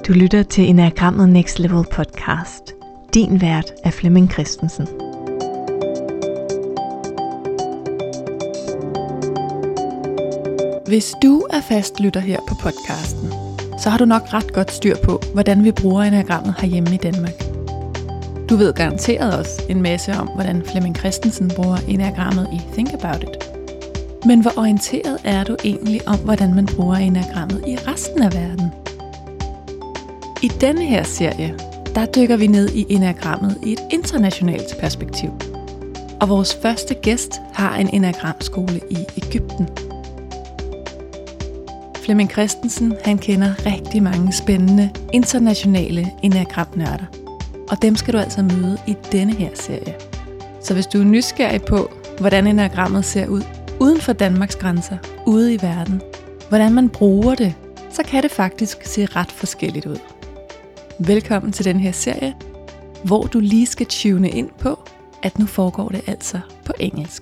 Du lytter til Enagrammet Next Level podcast. Din vært er Flemming Christensen. Hvis du er fast lytter her på podcasten, så har du nok ret godt styr på, hvordan vi bruger enagrammet herhjemme i Danmark. Du ved garanteret også en masse om, hvordan Flemming Christensen bruger enagrammet i Think About It. Men hvor orienteret er du egentlig om, hvordan man bruger enagrammet i resten af verden? I denne her serie, der dykker vi ned i enagrammet i et internationalt perspektiv. Og vores første gæst har en enagramskole i Egypten. Flemming Christensen, han kender rigtig mange spændende internationale enagramnørder. Og dem skal du altså møde i denne her serie. Så hvis du er nysgerrig på, hvordan enagrammet ser ud uden for Danmarks grænser, ude i verden, hvordan man bruger det, så kan det faktisk se ret forskelligt ud. Velkommen til den her serie, hvor du lige skal tune ind på, at nu foregår det altså på engelsk.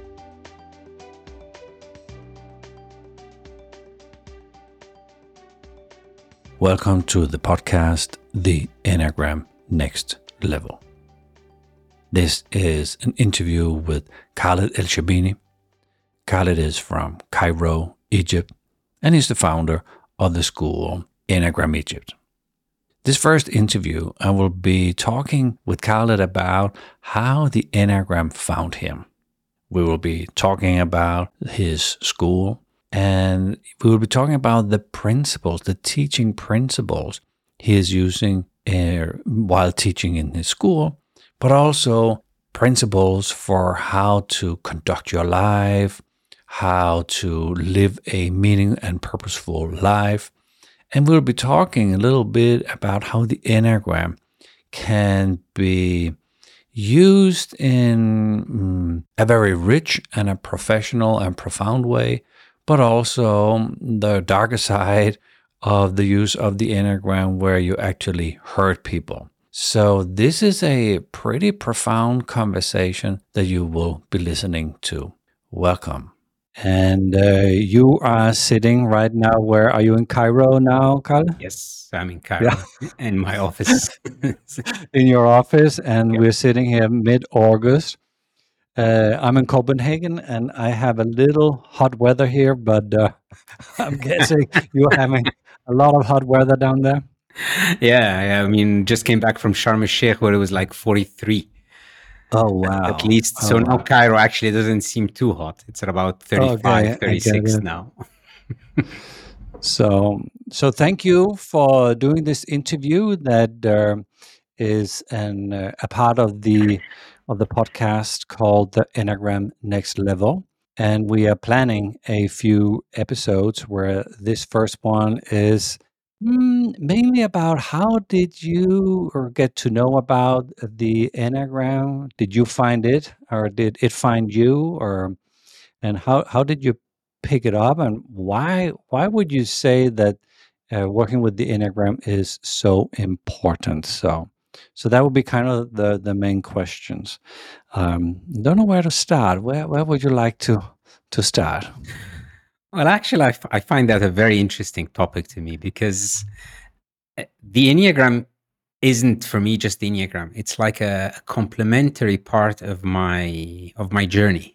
Welcome to the podcast, The Enneagram Next Level. This is an interview with Khaled El-Shabini. Khaled is from Cairo, Egypt, and he's the founder of the school Enneagram Egypt. This first interview, I will be talking with Khaled about how the Enneagram found him. We will be talking about his school, and we will be talking about the principles, the teaching principles he is using while teaching in his school, but also principles for how to conduct your life, how to live a meaning and purposeful life. And we'll be talking a little bit about how the Enneagram can be used in a very rich and a professional and profound way, but also the darker side of the use of the Enneagram where you actually hurt people. So this is a pretty profound conversation that you will be listening to. Welcome. And you are sitting right now. Where are you, in Cairo now, Carl? Yes, I'm in Cairo, in my office. In your office, and we're sitting here mid-August. I'm in Copenhagen, and I have a little hot weather here, but I'm guessing you're having a lot of hot weather down there. Yeah, I mean, just came back from Sharm el-Sheikh where it was like 43. Oh, wow. At least. So now Cairo actually doesn't seem too hot. It's at about 35, 36 now. So thank you for doing this interview that is a part of the podcast called The Enneagram Next Level. And we are planning a few episodes where this first one is mainly about how did you get to know about the Enneagram? Did you find it, or did it find you, and how did you pick it up, and why would you say that working with the Enneagram is so important? So that would be kind of the main questions. Don't know where to start. Where would you like to start? Well, actually, I find that a very interesting topic to me because the Enneagram isn't for me just the Enneagram. It's like a complementary part of my journey.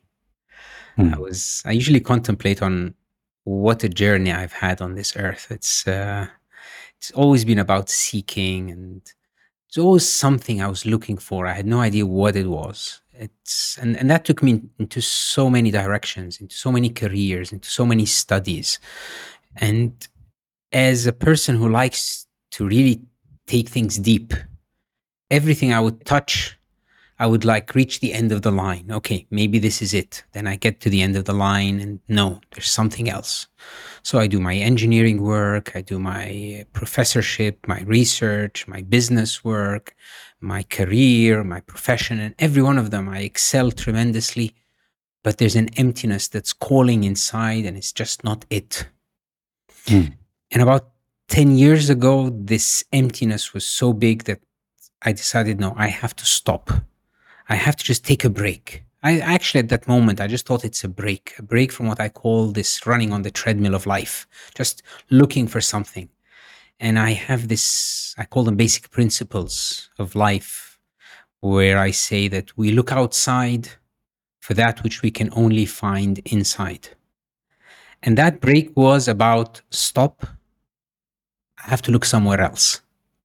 I usually contemplate on what a journey I've had on this earth. It's always been about seeking, and it's always something I was looking for. I had no idea what it was. And that took me into so many directions, into so many careers, into so many studies. And as a person who likes to really take things deep, everything I would touch, I would reach the end of the line. Okay, maybe this is it. Then I get to the end of the line and no, there's something else. So I do my engineering work, I do my professorship, my research, my business work, my career, my profession, and every one of them I excel tremendously, but there's an emptiness that's calling inside and it's just not it. And about 10 years ago, this emptiness was so big that I decided, no, I have to stop. I have to just take a break. I actually, at that moment, I just thought it's a break from what I call this running on the treadmill of life, just looking for something. And I have this, I call them basic principles of life, where I say that we look outside for that which we can only find inside. And that break was about, stop, I have to look somewhere else.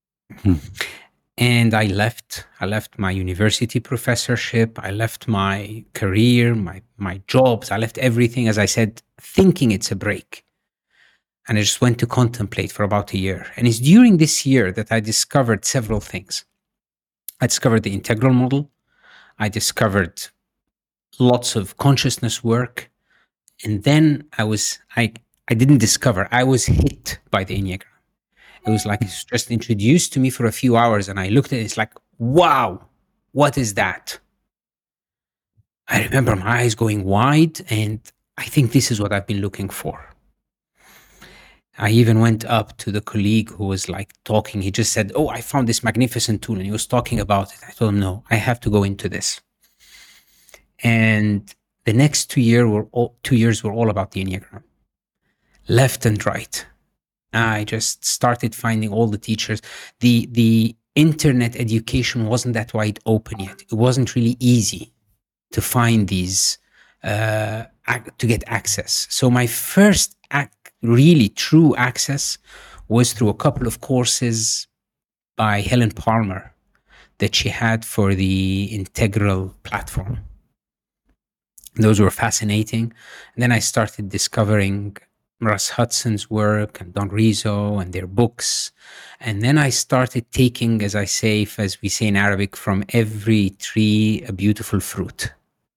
And I left my university professorship. I left my career, my jobs. I left everything, as I said, thinking it's a break. And I just went to contemplate for about a year. And it's during this year that I discovered several things. I discovered the integral model. I discovered lots of consciousness work. And then I didn't discover, I was hit by the Enneagram. It was like it's just introduced to me for a few hours, and I looked at it, it's like, wow, what is that? I remember my eyes going wide, and I think this is what I've been looking for. I even went up to the colleague who was like talking. He just said, oh, I found this magnificent tool, and he was talking about it. I told him, no, I have to go into this. And the next 2 years were all about the Enneagram, left and right. I just started finding all the teachers. The internet education wasn't that wide open yet. It wasn't really easy to find these, to get access. So my first really true access was through a couple of courses by Helen Palmer that she had for the Integral platform. Those were fascinating. And then I started discovering Russ Hudson's work and Don Rizzo and their books. And then I started taking, as we say in Arabic, from every tree a beautiful fruit.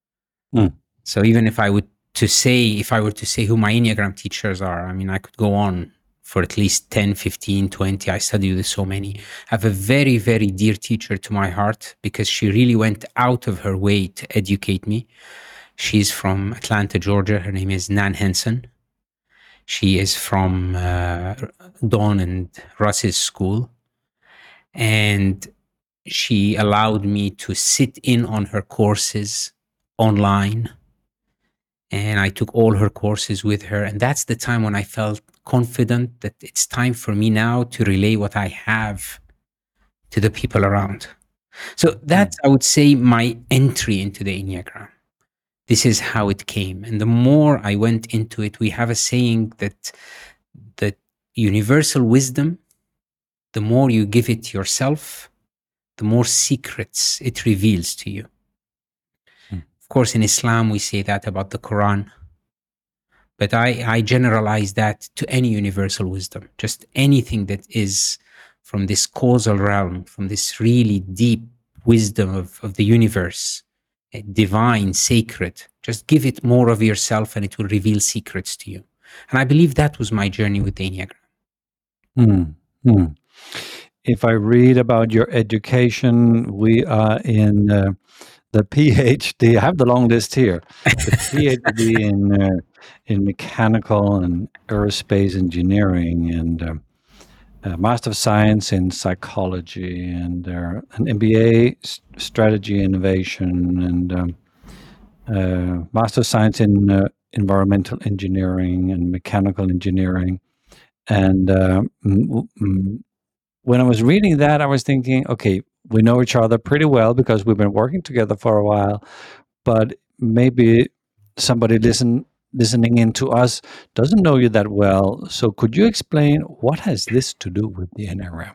So even if I were to say who my Enneagram teachers are, I mean, I could go on for at least 10, 15, 20. I studied with so many. I have a very, very dear teacher to my heart because she really went out of her way to educate me. She's from Atlanta, Georgia. Her name is Nan Henson. She is from Dawn and Russ's school. And she allowed me to sit in on her courses online. And I took all her courses with her. And that's the time when I felt confident that it's time for me now to relay what I have to the people around. So that's, I would say, my entry into the Enneagram. This is how it came. And the more I went into it, we have a saying that universal wisdom, the more you give it yourself, the more secrets it reveals to you. Of course, in Islam, we say that about the Quran. But I generalize that to any universal wisdom, just anything that is from this causal realm, from this really deep wisdom of the universe, divine, sacred. Just give it more of yourself and it will reveal secrets to you. And I believe that was my journey with the Enneagram. If I read about your education, we are in the PhD. I have the long list here. The PhD in mechanical and aerospace engineering, and Master of Science in psychology, and an MBA strategy innovation, and Master of Science in environmental engineering and mechanical engineering. And when I was reading that, I was thinking, okay, we know each other pretty well because we've been working together for a while, but maybe somebody listening in to us doesn't know you that well. So could you explain what has this to do with the Enneagram?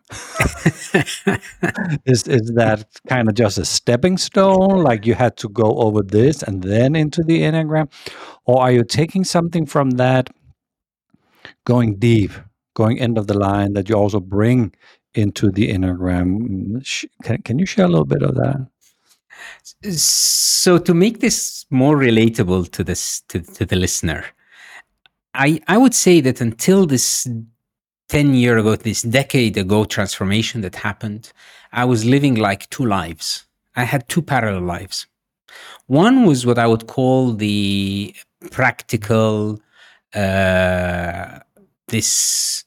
Is that kind of just a stepping stone, like you had to go over this and then into the Enneagram? Or are you taking something from that, going deep, going end of the line, that you also bring into the Enneagram? Can you share a little bit of that? So to make this more relatable to the listener, I would say that until this 10-year ago, this decade ago transformation that happened, I was living like two lives. I had two parallel lives. One was what I would call the practical, this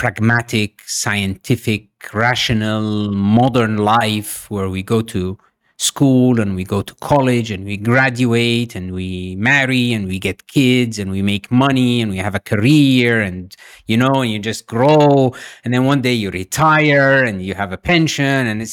pragmatic, scientific, rational, modern life where we go to school and we go to college and we graduate and we marry and we get kids and we make money and we have a career and and you just grow, and then one day you retire and you have a pension, and it's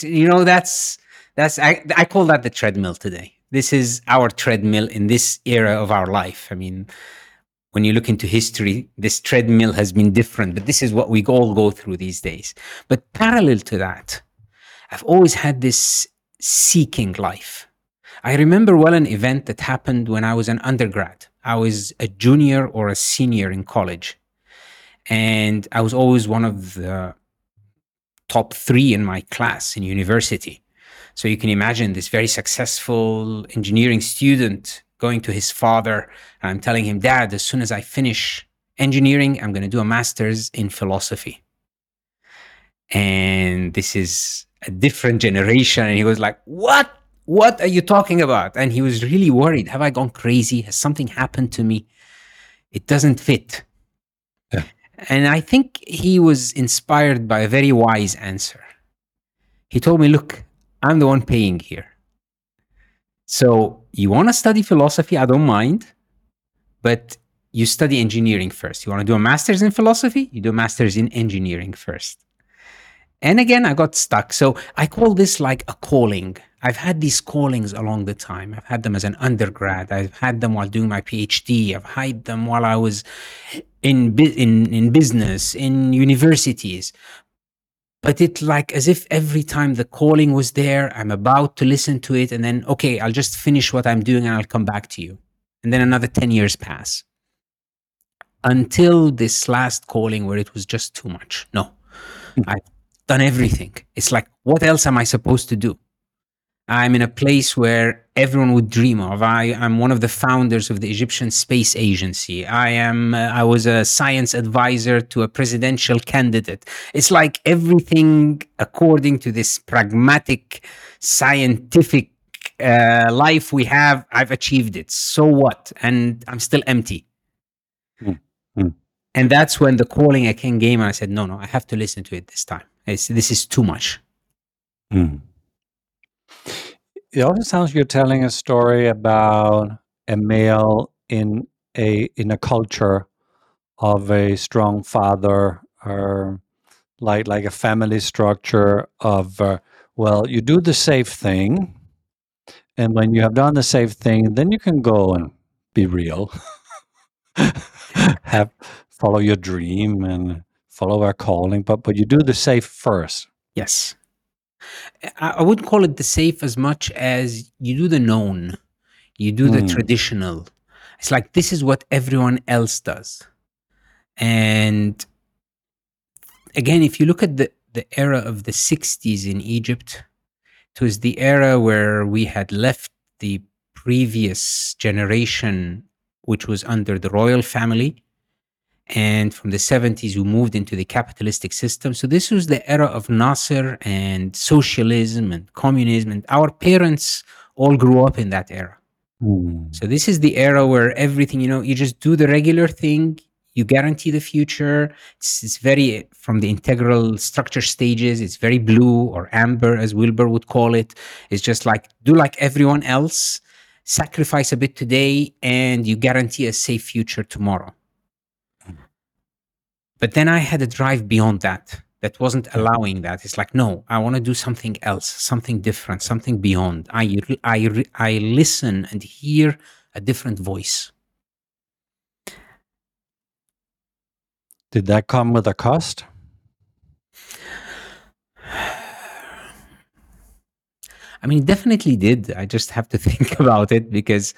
I call that the treadmill today. This is our treadmill in this era of our life. I mean, when you look into history, this treadmill has been different, but this is what we all go through these days. But parallel to that, I've always had this seeking life. I remember well an event that happened when I was an undergrad. I was a junior or a senior in college, and I was always one of the top 3 in my class in university. So you can imagine this very successful engineering student going to his father, and I'm telling him, Dad, as soon as I finish engineering, I'm going to do a master's in philosophy. And this is a different generation. And he was like, what are you talking about? And he was really worried. Have I gone crazy? Has something happened to me? It doesn't fit. Yeah. And I think he was inspired by a very wise answer. He told me, look, I'm the one paying here. So you want to study philosophy? I don't mind, but you study engineering first. You want to do a master's in philosophy? You do a master's in engineering first. And again, I got stuck. So I call this like a calling. I've had these callings along the time. I've had them as an undergrad. I've had them while doing my PhD. I've had them while I was in business, in universities. But it's like as if every time the calling was there, I'm about to listen to it, and then, okay, I'll just finish what I'm doing and I'll come back to you. And then another 10 years pass. Until this last calling where it was just too much. No, I've done everything. It's like, what else am I supposed to do? I'm in a place where everyone would dream of. I'm one of the founders of the Egyptian Space Agency. I was a science advisor to a presidential candidate. It's like everything according to this pragmatic, scientific life we have, I've achieved it. So what? And I'm still empty. And that's when the calling again came, and I said, no, I have to listen to it this time. This is too much. It also sounds you're telling a story about a male in a culture of a strong father, or like a family structure of, you do the safe thing, and when you have done the safe thing, then you can go and be real, follow your dream and follow our calling, but you do the safe first. Yes. I wouldn't call it the safe as much as you do the known, you do the traditional. It's like, this is what everyone else does. And again, if you look at the era of the 60s in Egypt, it was the era where we had left the previous generation, which was under the royal family. And from the 70s, we moved into the capitalistic system. So this was the era of Nasser and socialism and communism. And our parents all grew up in that era. So this is the era where everything, you just do the regular thing. You guarantee the future. It's very, from the integral structure stages, it's very blue or amber, as Wilber would call it. It's just like, do like everyone else, sacrifice a bit today, and you guarantee a safe future tomorrow. But then I had a drive beyond that wasn't allowing that. It's like, no, I want to do something else, something different, something beyond. I listen and hear a different voice. Did that come with a cost? I mean, it definitely did. I just have to think about it because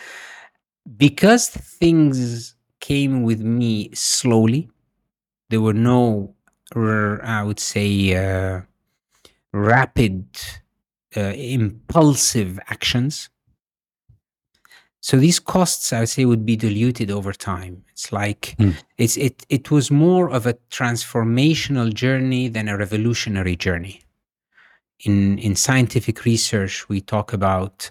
things came with me slowly. There were no, I would say, rapid, impulsive actions. So these costs, I would say, would be diluted over time. It's like, it was more of a transformational journey than a revolutionary journey. In scientific research, we talk about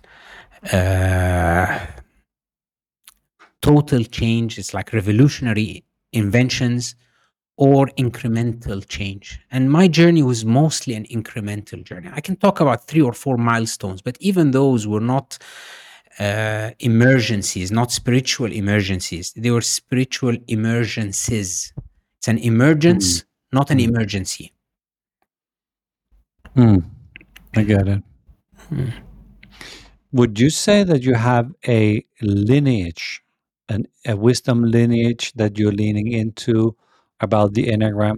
total change. It's like revolutionary inventions or incremental change. And my journey was mostly an incremental journey. I can talk about 3 or 4 milestones, but even those were not emergencies, not spiritual emergencies. They were spiritual emergencies. It's an emergence, not an emergency. I get it. Would you say that you have a lineage, a wisdom lineage that you're leaning into about the Enneagram?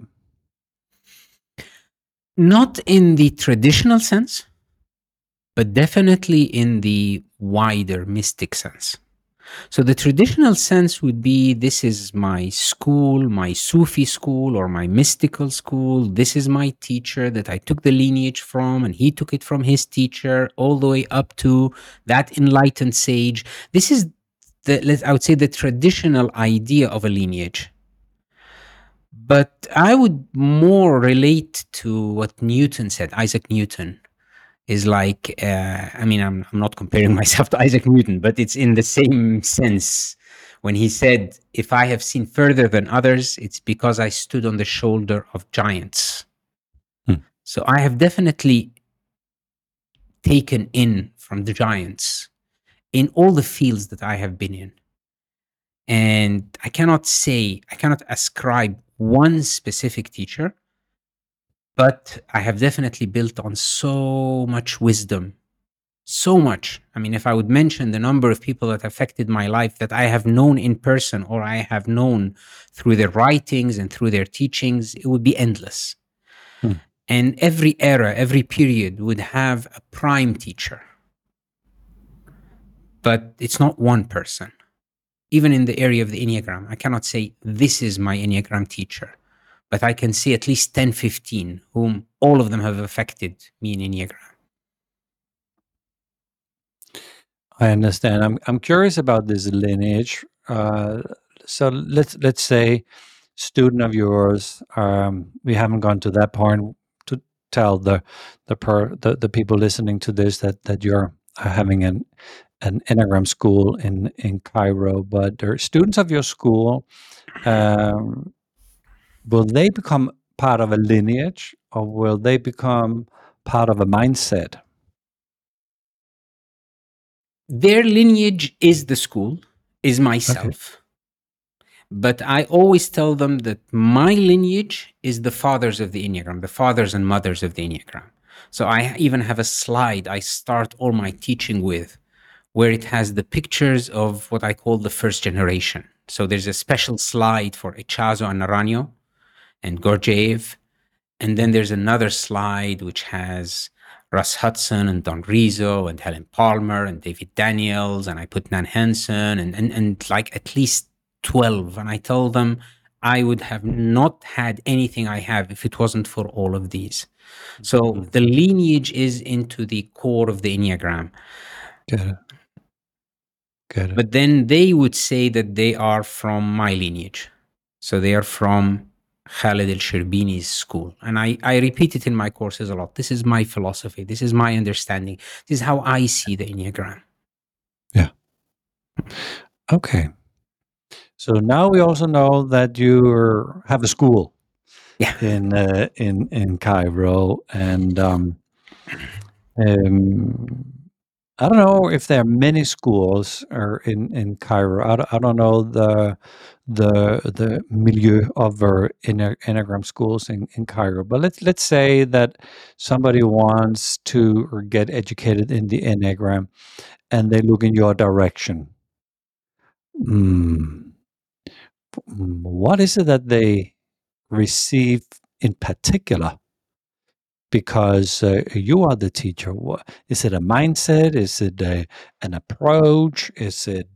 Not in the traditional sense, but definitely in the wider mystic sense. So the traditional sense would be, this is my school, my Sufi school or my mystical school. This is my teacher that I took the lineage from, and he took it from his teacher all the way up to that enlightened sage. This is I would say the traditional idea of a lineage. But I would more relate to what Newton said, Isaac Newton. Is like, I'm not comparing myself to Isaac Newton, but it's in the same sense when he said, if I have seen further than others, it's because I stood on the shoulder of giants. So I have definitely taken in from the giants in all the fields that I have been in. And I cannot ascribe one specific teacher, but I have definitely built on so much wisdom, so much. I mean, if I would mention the number of people that affected my life that I have known in person or I have known through their writings and through their teachings, it would be endless. And every era, every period would have a prime teacher. But it's not one person. Even in the area of the Enneagram, I cannot say, this is my Enneagram teacher. But I can see at least 10, 15, whom all of them have affected me in Enneagram. I understand. I'm curious about this lineage. So let's say, student of yours, we haven't gone to that point to tell the people listening to this that you're having an Enneagram school in Cairo, but they're students of your school. Will they become part of a lineage, or will they become part of a mindset? Their lineage is the school, is myself. Okay. But I always tell them that my lineage is the fathers of the Enneagram, the fathers and mothers of the Enneagram. So I even have a slide I start all my teaching with, where it has the pictures of what I call the first generation. So there's a special slide for Echazo and Naranjo and Gurdjieff. And then there's another slide which has Russ Hudson and Don Rizzo and Helen Palmer and David Daniels, and I put Nan Hansen and like at least 12. And I told them I would have not had anything I have if it wasn't for all of these. So the lineage is into the core of the Enneagram. Got it. But then they would say that they are from my lineage. So they are from Khaled El-Sherbini's school. And I repeat it in my courses a lot. This is my philosophy. This is my understanding. This is how I see the Enneagram. Yeah. Okay. So now we also know that you have a school in Cairo. And I don't know if there are many schools in Cairo. I don't know the milieu of Enneagram schools in Cairo. But let's say that somebody wants to get educated in the Enneagram, and they look in your direction. What is it that they receive in particular? Because you are the teacher. Is it a mindset? Is it an approach? Is it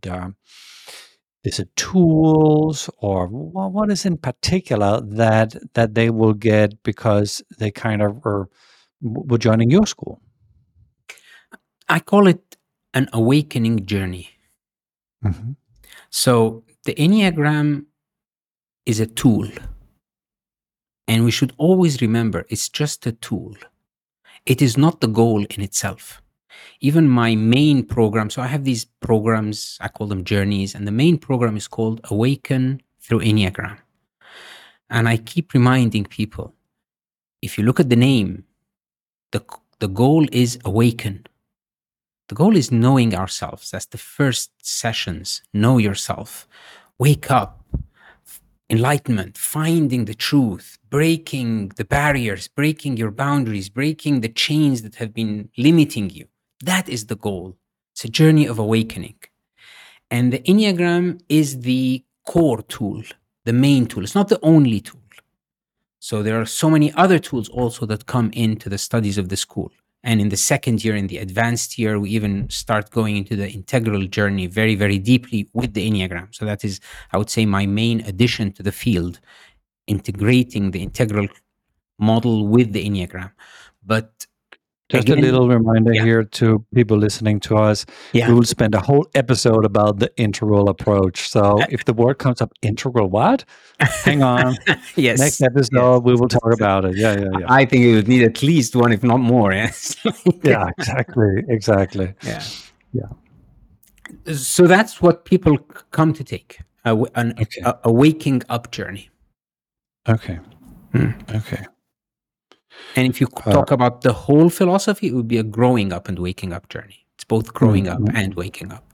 tools? Or what is in particular that they will get because they kind of were joining your school? I call it an awakening journey. Mm-hmm. So the Enneagram is a tool. And we should always remember, it's just a tool. It is not the goal in itself. Even my main program, so I have these programs, I call them journeys, and the main program is called Awaken Through Enneagram. And I keep reminding people, if you look at the name, the goal is awaken. The goal is knowing ourselves. That's the first sessions. Know yourself. Wake up. Enlightenment. Finding the truth. Breaking the barriers. Breaking your boundaries. Breaking the chains that have been limiting you. That is the goal. It's a journey of awakening. And the Enneagram is the core tool, the main tool. It's not the only tool. So there are so many other tools also that come into the studies of the school. And in the second year, in the advanced year, we even start going into the integral journey very, very deeply with the Enneagram. So that is, I would say, my main addition to the field, integrating the integral model with the Enneagram. But just again, a little reminder here to people listening to us. Yeah. We will spend a whole episode about the integral approach. So if the word comes up, integral what? Hang on. Yes. Next episode, we will talk about it. Yeah. I think it would need at least one, if not more. Yes. Yeah, exactly. Yeah. So that's what people come to take, a waking up journey. Okay. Okay. And if you talk about the whole philosophy, it would be a growing up and waking up journey. It's both growing up and waking up.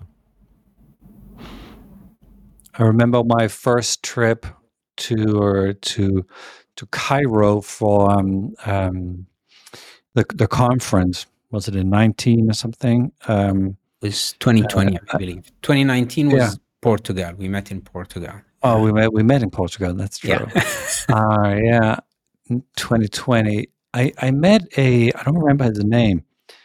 I remember my first trip to Cairo for the conference. Was it in 19 or something? It was 2020, I believe. 2019 was Portugal. We met in Portugal. Oh, we met in Portugal. That's true. Yeah. 2020. I met I don't remember his name,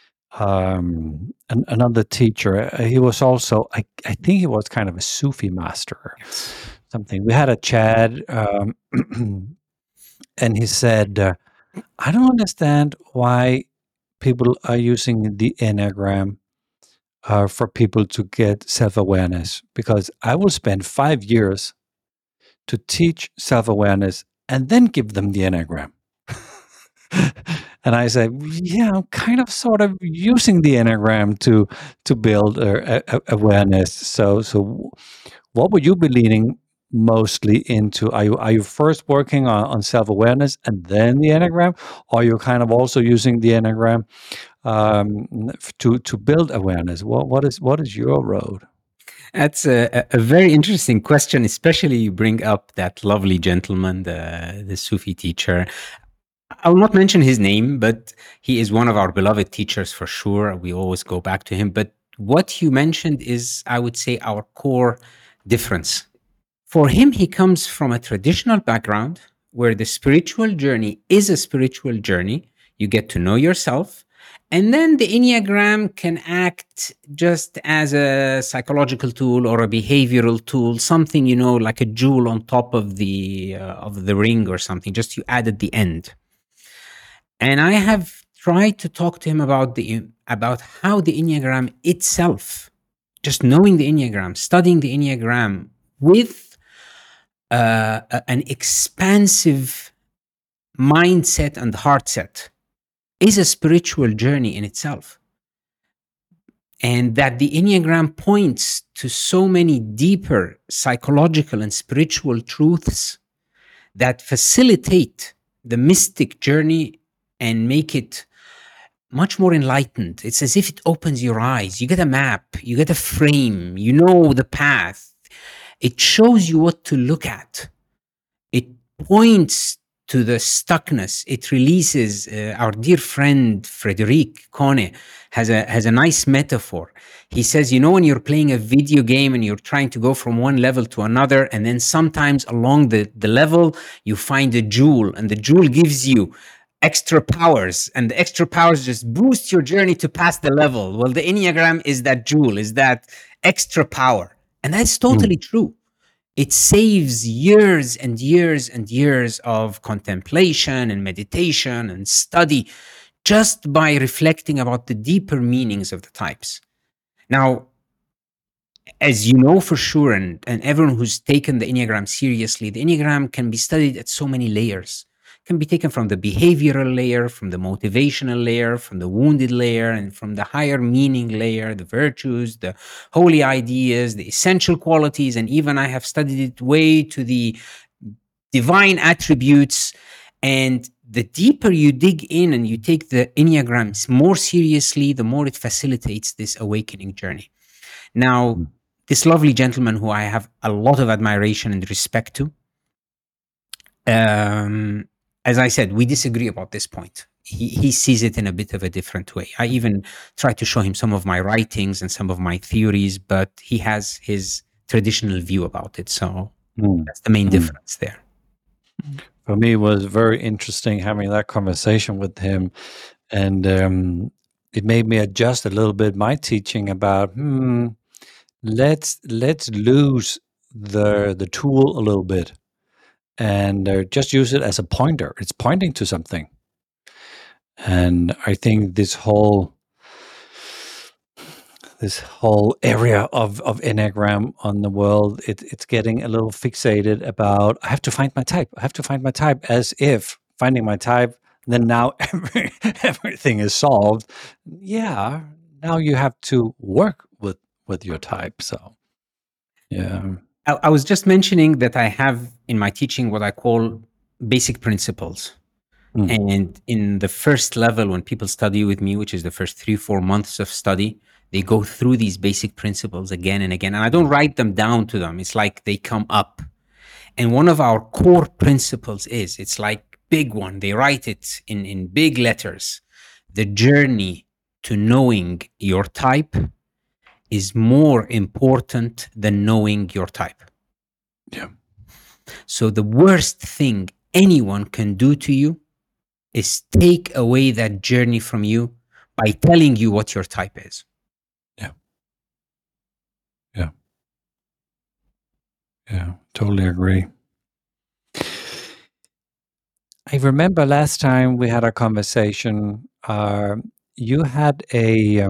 another teacher. He was also, I think he was kind of a Sufi master, something. We had a chat, and he said, I don't understand why people are using the Enneagram for people to get self-awareness, because I will spend 5 years to teach self-awareness and then give them the Enneagram. And I said, yeah, I'm kind of sort of using the Enneagram to build awareness. So what would you be leaning mostly into? Are you first working on self-awareness and then the Enneagram? Or are you kind of also using the Enneagram to build awareness? What is your road? That's a very interesting question, especially you bring up that lovely gentleman, the Sufi teacher. I will not mention his name, but he is one of our beloved teachers for sure. We always go back to him. But what you mentioned is, I would say, our core difference. For him, he comes from a traditional background where the spiritual journey is a spiritual journey. You get to know yourself. And then the Enneagram can act just as a psychological tool or a behavioral tool, something, like a jewel on top of the ring or something, just you add at the end. And I have tried to talk to him about how the Enneagram itself, just knowing the Enneagram, studying the Enneagram with an expansive mindset and heart set, is a spiritual journey in itself. And that the Enneagram points to so many deeper psychological and spiritual truths that facilitate the mystic journey and make it much more enlightened. It's as if it opens your eyes. You get a map, you get a frame, you know the path. It shows you what to look at. It points to the stuckness. It releases. Our dear friend Frederic Kone has a nice metaphor. He says, when you're playing a video game and you're trying to go from one level to another, and then sometimes along the level you find a jewel, and the jewel gives you extra powers, and the extra powers just boost your journey to pass the level. Well, the Enneagram is that jewel, is that extra power. And that's totally true. It saves years and years and years of contemplation and meditation and study just by reflecting about the deeper meanings of the types. Now, as you know for sure, and everyone who's taken the Enneagram seriously, the Enneagram can be studied at so many layers. Can be taken from the behavioral layer, from the motivational layer, from the wounded layer, and from the higher meaning layer, the virtues, the holy ideas, the essential qualities, and even I have studied it way to the divine attributes. And the deeper you dig in and you take the Enneagrams more seriously, the more it facilitates this awakening journey. Now, this lovely gentleman who I have a lot of admiration and respect to, as I said, we disagree about this point. He sees it in a bit of a different way. I even try to show him some of my writings and some of my theories, but he has his traditional view about it. So that's the main difference there. For me, it was very interesting having that conversation with him, and it made me adjust a little bit my teaching about let's lose the tool a little bit and just use it as a pointer. It's pointing to something. And I think this whole area of Enneagram on the world, it's getting a little fixated about, I have to find my type. I have to find my type, as if finding my type, then now everything is solved. Yeah, now you have to work with your type. So, yeah. I was just mentioning that I have in my teaching what I call basic principles. And in the first level, when people study with me, which is the first 3-4 months of study, they go through these basic principles again and again. And I don't write them down to them. It's like they come up. And one of our core principles is, it's like big one. They write it in big letters. The journey to knowing your type is more important than knowing your type. Yeah. So the worst thing anyone can do to you is take away that journey from you by telling you what your type is. Yeah, totally agree. I remember last time we had a conversation, you had a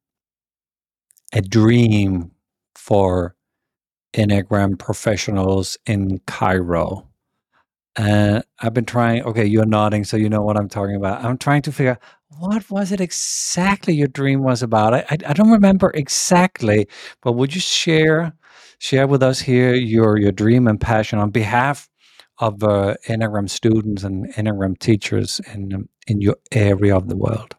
dream for Enneagram professionals in Cairo. I've been trying, okay, you're nodding, so you know what I'm talking about. I'm trying to figure out, what was it exactly your dream was about? I don't remember exactly, but would you share with us here your dream and passion on behalf of Enneagram students and Enneagram teachers in your area of the world?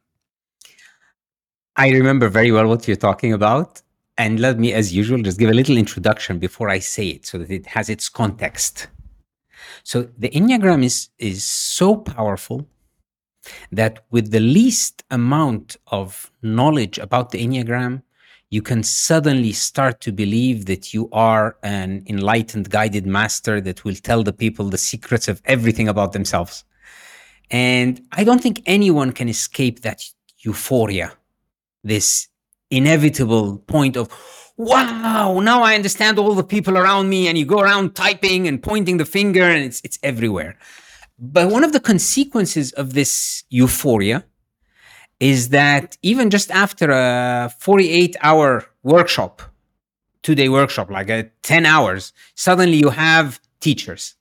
I remember very well what you're talking about. And let me, as usual, just give a little introduction before I say it so that it has its context. So the Enneagram is so powerful that with the least amount of knowledge about the Enneagram, you can suddenly start to believe that you are an enlightened, guided master that will tell the people the secrets of everything about themselves. And I don't think anyone can escape that euphoria, this inevitable point of, wow, now I understand all the people around me, and you go around typing and pointing the finger, and it's everywhere. But one of the consequences of this euphoria is that even just after a 48-hour workshop, 2-day workshop, like 10 hours, suddenly you have teachers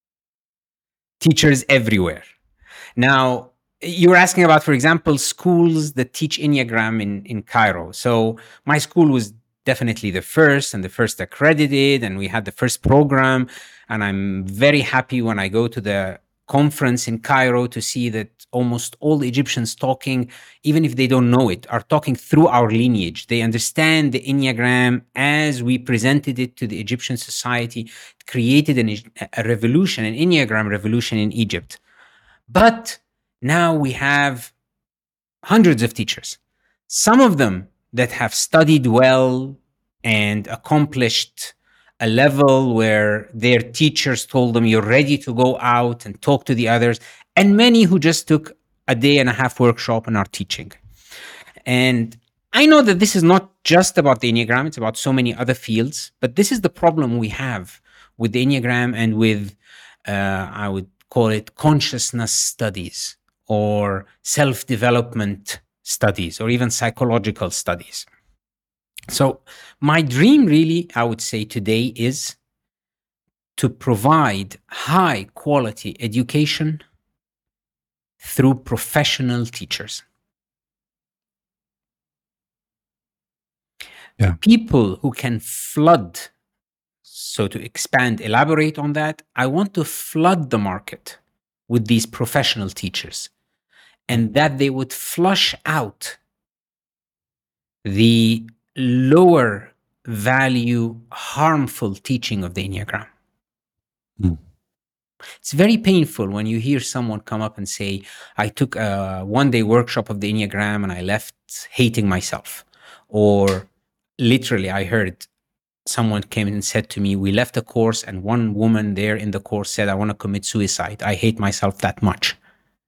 everywhere. Now, you were asking about, for example, schools that teach Enneagram in Cairo. So my school was definitely the first accredited, and we had the first program. And I'm very happy when I go to the conference in Cairo to see that almost all the Egyptians talking, even if they don't know it, are talking through our lineage. They understand the Enneagram as we presented it to the Egyptian society. It created a revolution, an Enneagram revolution in Egypt. But now we have hundreds of teachers, some of them that have studied well and accomplished a level where their teachers told them, you're ready to go out and talk to the others, and many who just took a 1.5-day workshop and are teaching. And I know that this is not just about the Enneagram, it's about so many other fields, but this is the problem we have with the Enneagram and with, I would call it consciousness studies or self-development studies or even psychological studies. So my dream really, I would say today, is to provide high quality education through professional teachers. Yeah. People who can flood So to expand, elaborate on that, I want to flood the market with these professional teachers, and that they would flush out the lower value, harmful teaching of the Enneagram. It's very painful when you hear someone come up and say, I took a one-day workshop of the Enneagram and I left hating myself. Or literally, I heard someone came and said to me, we left a course and one woman there in the course said, I want to commit suicide. I hate myself that much.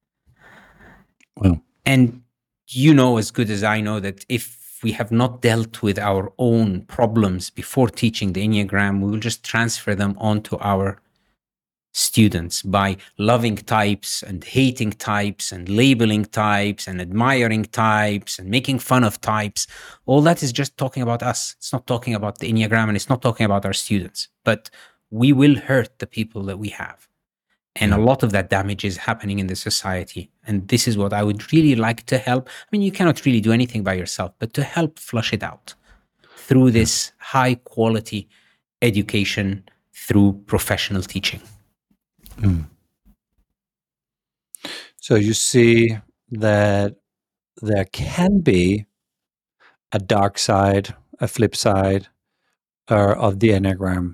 Well, and you know as good as I know that if we have not dealt with our own problems before teaching the Enneagram, we will just transfer them onto our students by loving types and hating types and labeling types and admiring types and making fun of types. All that is just talking about us. It's not talking about the Enneagram and it's not talking about our students, but we will hurt the people that we have. And a lot of that damage is happening in the society. And this is what I would really like to help. I mean, you cannot really do anything by yourself, but to help flush it out through this high quality education, through professional teaching. So you see that there can be a dark side, a flip side of the Enneagram.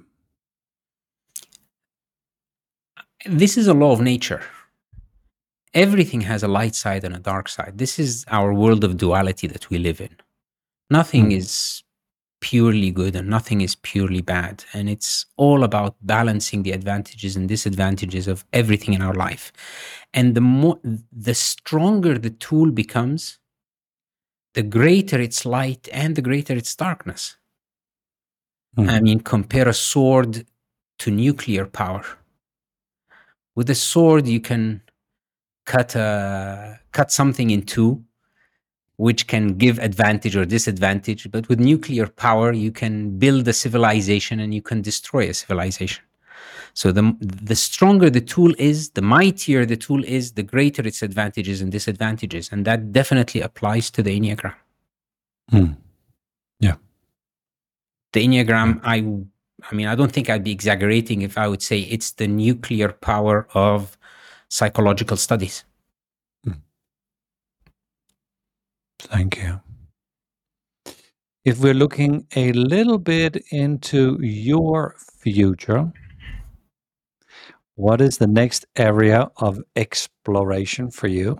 This is a law of nature. Everything has a light side and a dark side. This is our world of duality that we live in. Nothing is purely good and nothing is purely bad. And it's all about balancing the advantages and disadvantages of everything in our life. And the stronger the tool becomes, the greater its light and the greater its darkness. I mean, compare a sword to nuclear power. With a sword, you can cut something in two, which can give advantage or disadvantage. But with nuclear power, you can build a civilization and you can destroy a civilization. So the stronger the tool is, the mightier the tool is, the greater its advantages and disadvantages. And that definitely applies to the Enneagram. Yeah. The Enneagram, I mean, I don't think I'd be exaggerating if I would say it's the nuclear power of psychological studies. Thank you. If we're looking a little bit into your future, what is the next area of exploration for you?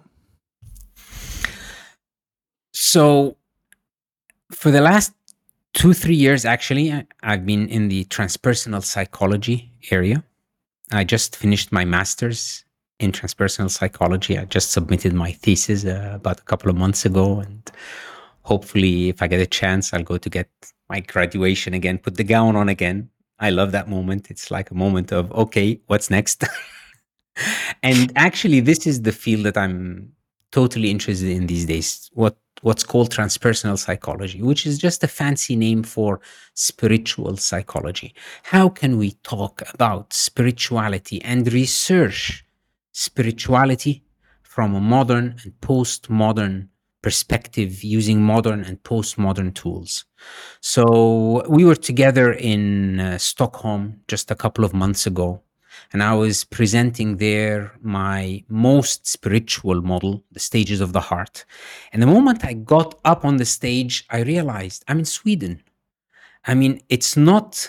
So for the last 2-3 years, actually, I've been in the transpersonal psychology area. I just finished my master's in transpersonal psychology. I just submitted my thesis about a couple of months ago. And hopefully, if I get a chance, I'll go to get my graduation again, put the gown on again. I love that moment. It's like a moment of, okay, what's next? And actually, this is the field that I'm totally interested in these days. What's called transpersonal psychology, which is just a fancy name for spiritual psychology. How can we talk about spirituality and research spirituality from a modern and postmodern perspective using modern and postmodern tools? So we were together in Stockholm just a couple of months ago. And I was presenting there my most spiritual model, the stages of the heart. And the moment I got up on the stage, I realized I'm in Sweden. I mean, it's not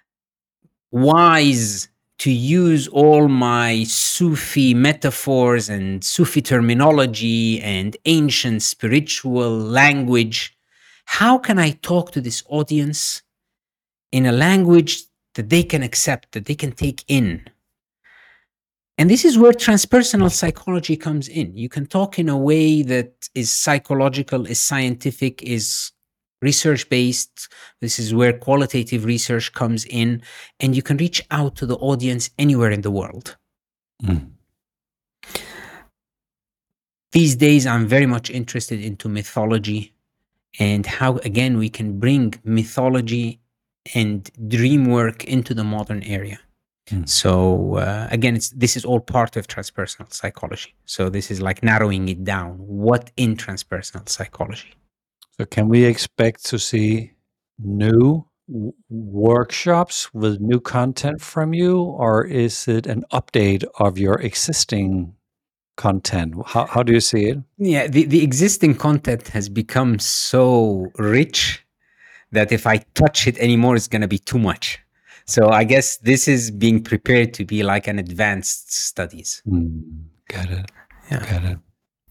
wise to use all my Sufi metaphors and Sufi terminology and ancient spiritual language. How can I talk to this audience in a language that they can accept, that they can take in? And this is where transpersonal psychology comes in. You can talk in a way that is psychological, is scientific, is research-based. This is where qualitative research comes in, and you can reach out to the audience anywhere in the world. These days, I'm very much interested into mythology and how, again, we can bring mythology and dream work into the modern area. So again, this is all part of transpersonal psychology. So this is like narrowing it down. What in transpersonal psychology? So can we expect to see new workshops with new content from you, or is it an update of your existing content? How do you see it? Yeah, the existing content has become so rich that if I touch it anymore, it's going to be too much. So I guess this is being prepared to be like an advanced studies. Got it. Yeah. Got it.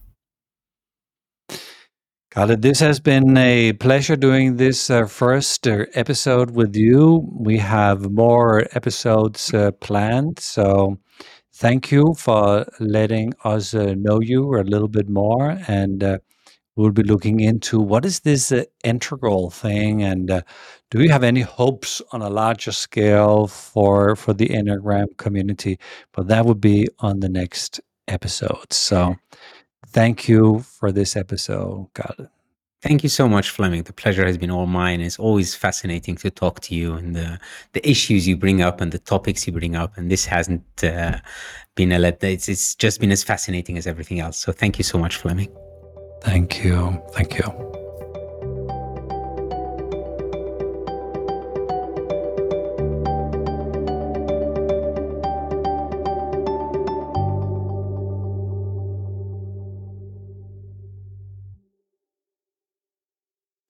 Khaled, this has been a pleasure doing this first episode with you. We have more episodes planned, so thank you for letting us know you a little bit more, and we'll be looking into what is this integral thing, and do you have any hopes on a larger scale for the Enneagram community? But that would be on the next episode. So thank you for this episode, Khaled. Thank you so much, Flemming. The pleasure has been all mine. It's always fascinating to talk to you, and the issues you bring up and the topics you bring up. And this hasn't been it's just been as fascinating as everything else. So thank you so much, Flemming. Thank you. Thank you.